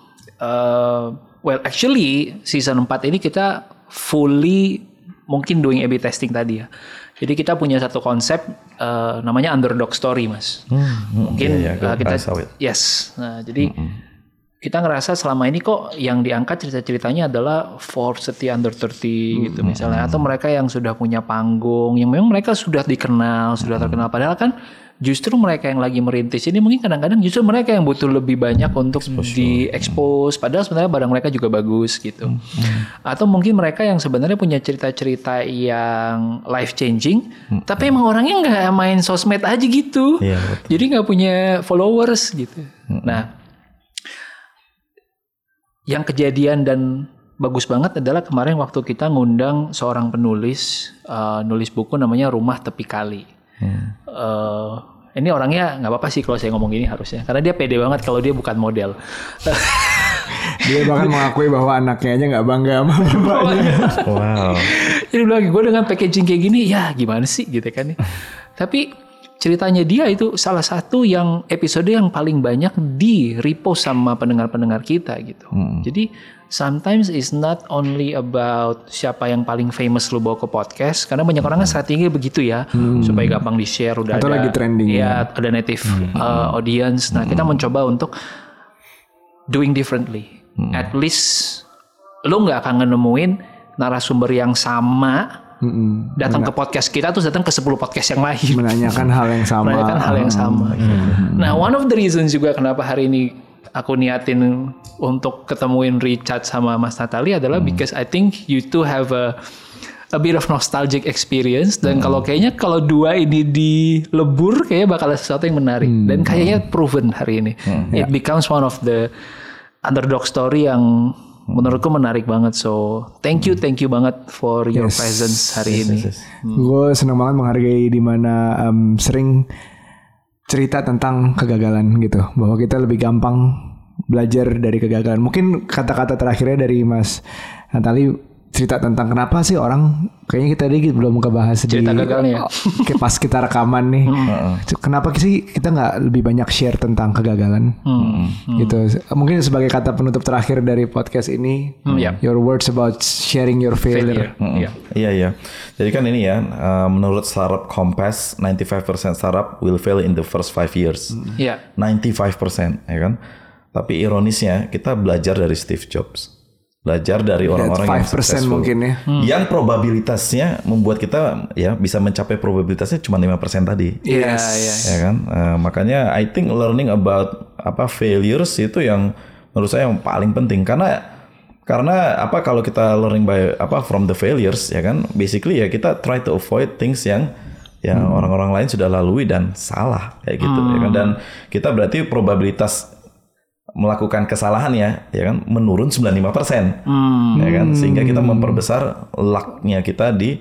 well actually season 4 ini kita fully mungkin doing A/B testing tadi ya. Jadi kita punya satu konsep namanya underdog story, Mas. Mungkin kita yes. Nah, jadi kita ngerasa selama ini kok yang diangkat cerita-ceritanya adalah Forbes 30 under 30 gitu misalnya, atau mereka yang sudah punya panggung, yang memang mereka sudah dikenal, sudah terkenal, padahal kan justru mereka yang lagi merintis ini mungkin kadang-kadang justru mereka yang butuh lebih banyak untuk di-expose, padahal sebenarnya barang mereka juga bagus gitu. Atau mungkin mereka yang sebenarnya punya cerita-cerita yang life changing, tapi emang orangnya nggak main sosmed aja gitu, jadi nggak punya followers gitu. Nah, yang kejadian dan bagus banget adalah kemarin waktu kita ngundang seorang penulis, nulis buku namanya Rumah Tepi Kali. Ini orangnya nggak apa-apa sih kalau saya ngomong gini harusnya, karena dia pede banget kalau dia bukan model. Dia bahkan mengakui bahwa anaknya aja nggak bangga sama bapaknya. Wow. Jadi bilang, gue dengan packaging kayak gini, ya gimana sih gitu kan. Tapi ceritanya dia itu salah satu yang episode yang paling banyak di repost sama pendengar-pendengar kita gitu. Jadi sometimes it's not only about siapa yang paling famous lu bawa ke podcast, karena banyak orang kan strategi begitu ya, supaya gampang di-share, udah atau ada lagi trending ya, ada native audience. Nah, kita mencoba untuk doing differently. At least lu nggak akan nemuin narasumber yang sama datang ke podcast kita terus datang ke 10 podcast yang lain menanyakan hal yang sama. Nah, one of the reasons juga kenapa hari ini aku niatin untuk ketemuin Richard sama Mas Natali adalah because I think you two have a bit of nostalgic experience, dan kalau dua ini dilebur kayaknya bakal ada sesuatu yang menarik, dan kayaknya proven hari ini. It becomes one of the underdog story yang menurutku menarik banget. So thank you banget for your presence hari ini. Gue senang banget menghargai di mana sering cerita tentang kegagalan gitu, bahwa kita lebih gampang belajar dari kegagalan. Mungkin kata-kata terakhirnya dari Mas Natali cerita tentang kenapa sih orang, kayaknya kita tadi belum kebahas cerita gagalnya pas kita rekaman nih. Kenapa sih kita nggak lebih banyak share tentang kegagalan gitu. Mungkin sebagai kata penutup terakhir dari podcast ini, your words about sharing your failure. Iya. Jadi kan ini ya, menurut startup Compass, 95% startup will fail in the first 5 years. 95% ya kan. Tapi ironisnya kita belajar dari Steve Jobs. Belajar dari orang-orang yang successful, mungkin ya. Yang probabilitasnya membuat kita ya bisa mencapai probabilitasnya cuma 5% tadi. Ya kan? Makanya I think learning about failures itu yang menurut saya yang paling penting, karena kalau kita learning from the failures ya kan, basically ya kita try to avoid things yang orang-orang lain sudah lalui dan salah kayak gitu ya kan, dan kita berarti probabilitas melakukan kesalahan ya kan menurun 95%. Ya kan, sehingga kita memperbesar luck-nya kita di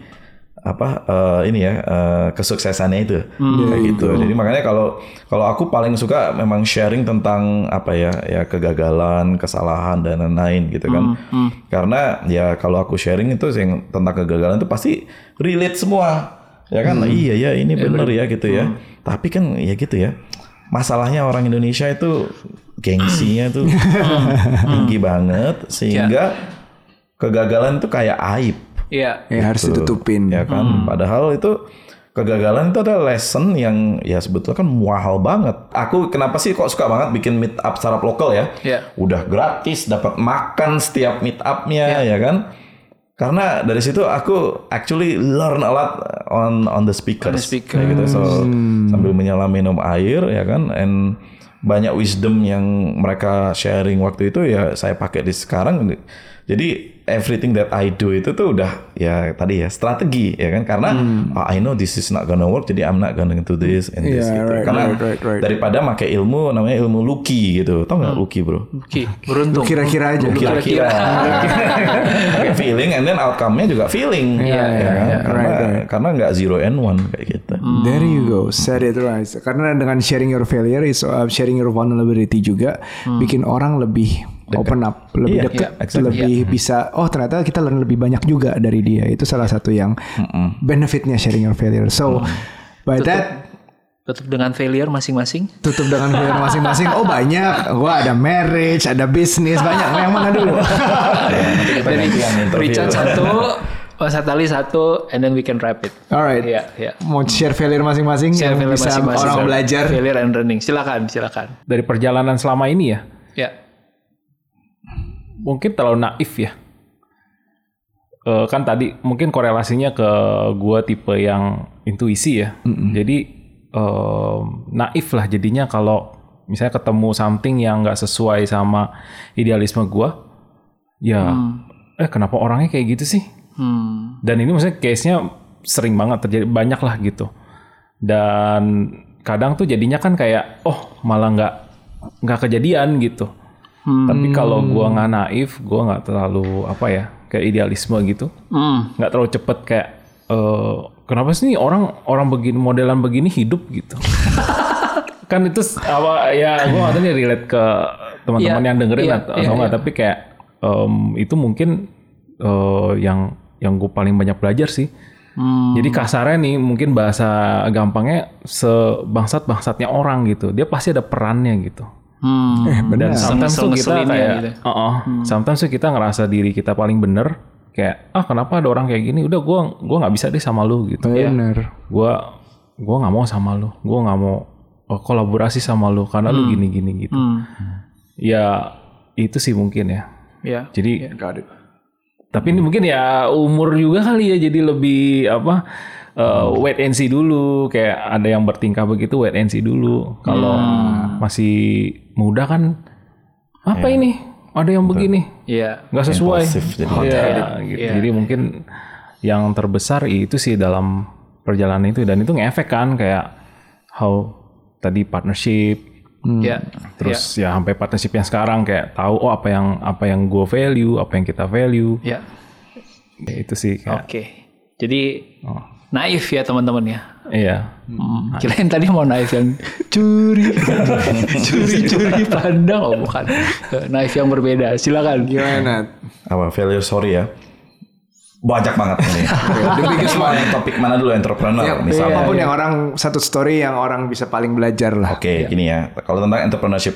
kesuksesannya itu. Kayak gitu. Jadi makanya kalau aku paling suka memang sharing tentang kegagalan, kesalahan dan lain-lain gitu kan. Karena ya kalau aku sharing itu yang tentang kegagalan itu pasti relate semua. Ya kan? Iya ya, ini benar ya gitu ya. Tapi kan ya gitu ya. Masalahnya orang Indonesia itu gengsinya tuh tinggi banget, sehingga kegagalan itu kayak aib. Iya, harus ditutupin. Ya kan, padahal itu kegagalan itu adalah lesson yang ya sebetulnya kan mahal banget. Aku kenapa sih kok suka banget bikin meet up startup lokal ya? Udah gratis, dapat makan setiap meet up-nya ya kan? Karena dari situ aku actually learn a lot on the speakers. Kayak gitu. So sambil menyelam minum air ya kan, and banyak wisdom yang mereka sharing waktu itu ya saya pakai di sekarang. Jadi everything that I do itu tuh udah ya tadi ya strategi ya kan, karena I know this is not gonna work, jadi I'm not gonna do this and this gitu. Karena daripada pakai ilmu namanya ilmu Lucky gitu, tau nggak Lucky bro? Lucky, beruntung. Kira-kira aja. Kira-kira. Pakai feeling and then outcome-nya juga feeling. Karena nggak 0 and 1 kayak gitu. There you go, said it right. Karena dengan sharing your failure is sharing your vulnerability juga bikin orang lebih open up, lebih dekat, lebih bisa. Oh ternyata kita learn lebih banyak juga dari dia. Itu salah satu yang benefitnya sharing your failure. So by that. Tutup dengan failure masing-masing. Tutup dengan failure masing-masing. Oh banyak. Gua ada marriage, ada bisnis, banyak. Yang mana dulu? Dari Richard 1, Satali 1, and then we can wrap it. Alright. Mau share failure masing-masing Share yang failure bisa masing-masing. orang belajar. Failure and learning. Silakan. Dari perjalanan selama ini ya. Ya. Mungkin terlalu naif ya. Kan tadi mungkin korelasinya ke gue tipe yang intuisi ya. Jadi naif lah jadinya kalau misalnya ketemu something yang nggak sesuai sama idealisme gue. Ya, kenapa orangnya kayak gitu sih? Dan ini maksudnya case-nya sering banget terjadi, banyak lah gitu. Dan kadang tuh jadinya kan kayak, malah nggak kejadian gitu. Tapi kalau gue nggak naif, gue nggak terlalu kayak idealisme gitu, nggak terlalu cepet kayak kenapa sih nih orang begini modelan begini hidup gitu. Kan itu gue nggak tahu nih relate ke teman-teman yang dengerin atau nggak, tapi kayak itu mungkin yang gue paling banyak belajar sih. Jadi kasarnya nih mungkin bahasa gampangnya sebangsat-bangsatnya orang gitu, dia pasti ada perannya gitu. Dan sometimes tuh kita kayak sometimes tuh kita ngerasa diri kita paling bener, kayak kenapa ada orang kayak gini, udah gue nggak bisa deh sama lu gitu. Bener. Gue nggak mau sama lu, gue nggak mau kolaborasi sama lu karena lu gini gitu. Ya itu sih mungkin ya. Jadi tapi ini mungkin ya umur juga kali ya, jadi lebih wait and see dulu, kayak ada yang bertingkah begitu wait and see dulu. Kalau masih muda kan ini ada yang begini nggak sesuai gitu. Jadi mungkin yang terbesar itu sih dalam perjalanan itu, dan itu ngefek kan kayak how tadi partnership terus ya sampai partnership yang sekarang kayak tahu apa yang gue value, apa yang kita value. Ya itu sih kayak. Jadi naif ya teman-teman ya. Iya. Kirain tadi mau naif yang curi pandang, bukan. Naif yang berbeda. Silakan. Gimana? Failure story ya. Banyak banget ini. Semua yang topik mana dulu, entrepreneur misalnya. Apapun yang orang satu story yang orang bisa paling belajar lah. Gini ya. Kalau tentang entrepreneurship,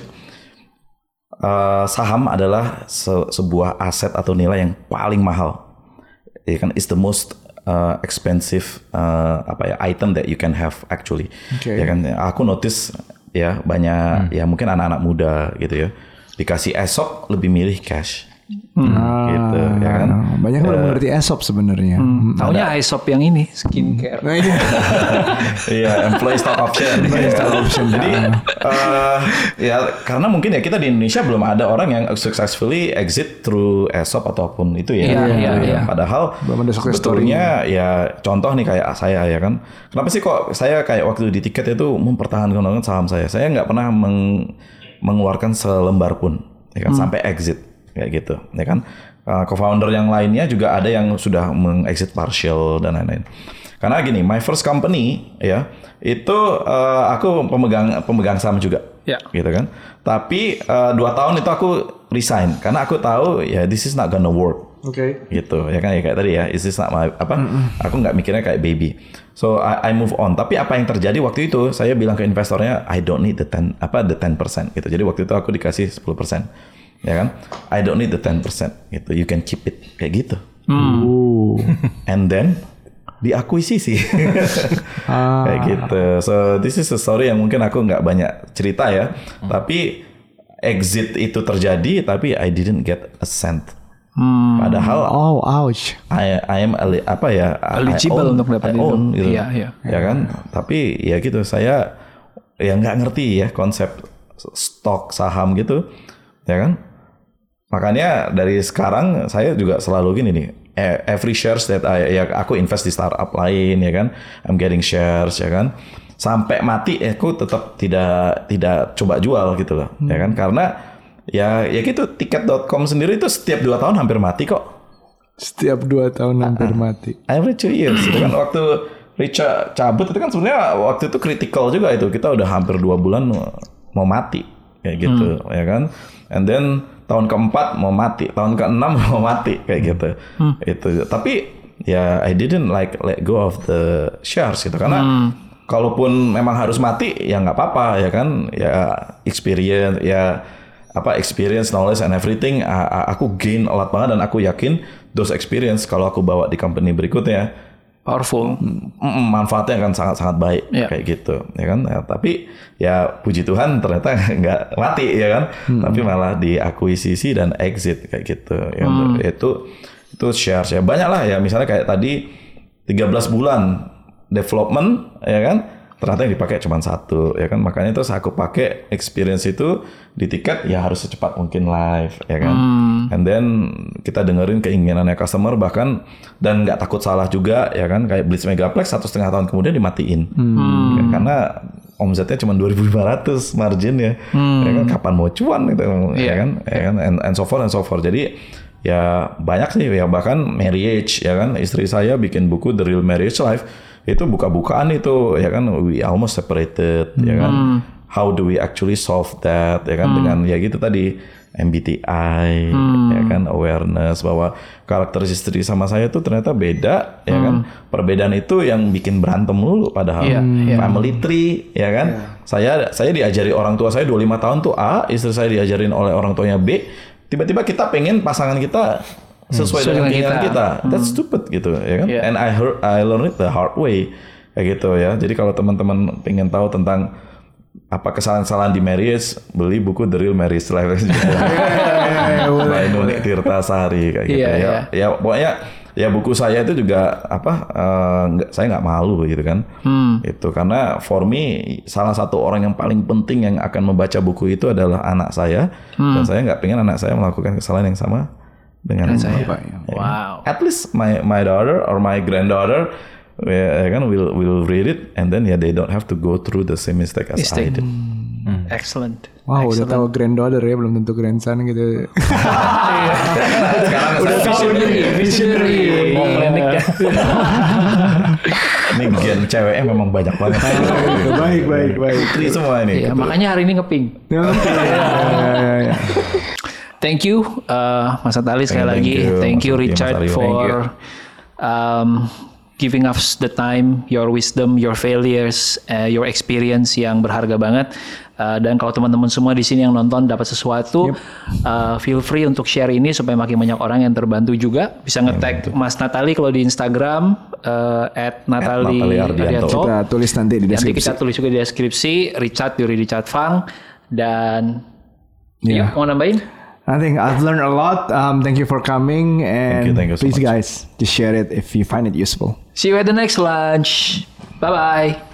saham adalah sebuah aset atau nilai yang paling mahal. Ya kan, is the most expensive item that you can have actually. Ya kan, aku notice ya banyak ya mungkin anak-anak muda gitu ya dikasih ESOP lebih milih cash. Gitu ya kan. Banyak yang mengerti ESOP sebenarnya. Taunya ESOP yang ini skincare. Iya, employee stock option. Jadi ya karena mungkin ya kita di Indonesia belum ada orang yang successfully exit through ESOP ataupun itu ya. Iya. Padahal sebetulnya ya contoh nih kayak saya ya kan. Kenapa sih kok saya kayak waktu di tiket itu mempertahankan saham saya. Saya nggak pernah mengeluarkan selembar pun ya kan sampai exit. Kayak gitu, ya kan. Co-founder yang lainnya juga ada yang sudah meng-exit partial dan lain-lain. Karena gini, my first company ya itu aku pemegang saham juga, gitu kan. Tapi 2 tahun itu aku resign karena aku tahu ya this is not gonna work. Gitu, ya kan, ya kayak tadi ya, this is not my aku nggak mikirnya kayak baby. So I move on. Tapi apa yang terjadi waktu itu? Saya bilang ke investornya, I don't need the 10% gitu. Jadi waktu itu aku dikasih 10%. Ya kan, I don't need the 10% gitu, you can keep it kayak gitu. And then diakuisisi kayak gitu. So this is a story yang mungkin aku nggak banyak cerita ya, tapi exit itu terjadi, tapi I didn't get a cent. Padahal ouch. I am eligible untuk dapat itu. Gitu. Ya kan, tapi ya gitu, saya ya nggak ngerti ya konsep stok saham gitu, ya kan. Makanya dari sekarang saya juga selalu gini nih, every shares that aku invest di startup lain ya kan, I'm getting shares ya kan, sampai mati aku tetap tidak coba jual gitu loh, ya kan, karena ya gitu, tiket.com sendiri itu setiap 2 tahun hampir mati kok. Setiap 2 tahun hampir mati. Every 2 years itu kan waktu Richard cabut itu kan sebenarnya waktu itu critical juga itu, kita udah hampir 2 bulan mau mati kayak gitu ya kan, and then tahun keempat mau mati, tahun keenam mau mati kayak gitu. Itu. Tapi ya I didn't let go of the shares gitu, karena kalaupun memang harus mati ya nggak apa-apa ya kan, ya experience, knowledge and everything aku gain a lot banget, dan aku yakin those experience kalau aku bawa di company berikutnya powerful, manfaatnya akan sangat-sangat baik kayak gitu ya kan. Ya, tapi ya puji Tuhan ternyata nggak mati ya kan, tapi malah diakuisisi dan exit kayak gitu ya. Itu shares ya banyak lah ya, misalnya kayak tadi 13 bulan development ya kan, ternyata yang dipakai cuma 1 ya kan, makanya terus aku pakai experience itu di tiket ya harus secepat mungkin live ya kan, and then kita dengerin keinginannya customer bahkan, dan nggak takut salah juga ya kan, kayak Blitz Megaplex 1,5 tahun kemudian dimatiin ya, karena omsetnya cuma 2.500 margin ya kan, kapan mau cuan gitu ya kan, and so forth. Jadi ya banyak sih ya, bahkan marriage ya kan, istri saya bikin buku The Real Marriage Life, itu buka-bukaan itu ya kan, we almost separated ya kan, how do we actually solve that ya kan, dengan ya gitu tadi MBTI ya kan, awareness bahwa karakter istri sama saya tuh ternyata beda ya kan, perbedaan itu yang bikin berantem dulu padahal family tree ya kan, saya diajari orang tua saya 25 tahun tuh A, istri saya diajarin oleh orang tuanya B, tiba-tiba kita pengen pasangan kita sesuai dengan keinginan kita. That's stupid gitu ya kan. And I learned it the hard way kayak gitu ya. Jadi kalau teman-teman pengen tahu tentang apa kesalahan-kesalahan di marriage, beli buku The Real Marriage Life by Nunik Tirtasari kayak gitu ya. Ya pokoknya ya buku saya itu juga saya nggak malu gitu kan. Itu karena for me salah satu orang yang paling penting yang akan membaca buku itu adalah anak saya, dan saya nggak pengen anak saya melakukan kesalahan yang sama dengan saya. Wow. At least my daughter or my granddaughter will read it, and then they don't have to go through the same mistake as I did. Excellent. Wow, udah tahu granddaughter ya, belum tentu grandson gitu. Sekarang udah visionary. Ini gen ceweknya memang banyak banget. Baik. Putri semua ini. Iya, makanya hari ini ngeping. Thank you, Mas Natali sekali lagi. Thank you, Richard, for giving us the time, your wisdom, your failures, your experience yang berharga banget. Dan kalau teman-teman semua di sini yang nonton dapat sesuatu, feel free untuk share ini supaya makin banyak orang yang terbantu juga. Bisa nge-tag Mas Natali kalau di Instagram @natali_ardianto. Kita tulis nanti di deskripsi. Nanti kita tulis juga di deskripsi. Yuri Richard Fang. Dan mau nambahin? I think I've learned a lot. Thank you for coming, and thank you so please much. guys, just share it if you find it useful. See you at the next lunch. Bye-bye.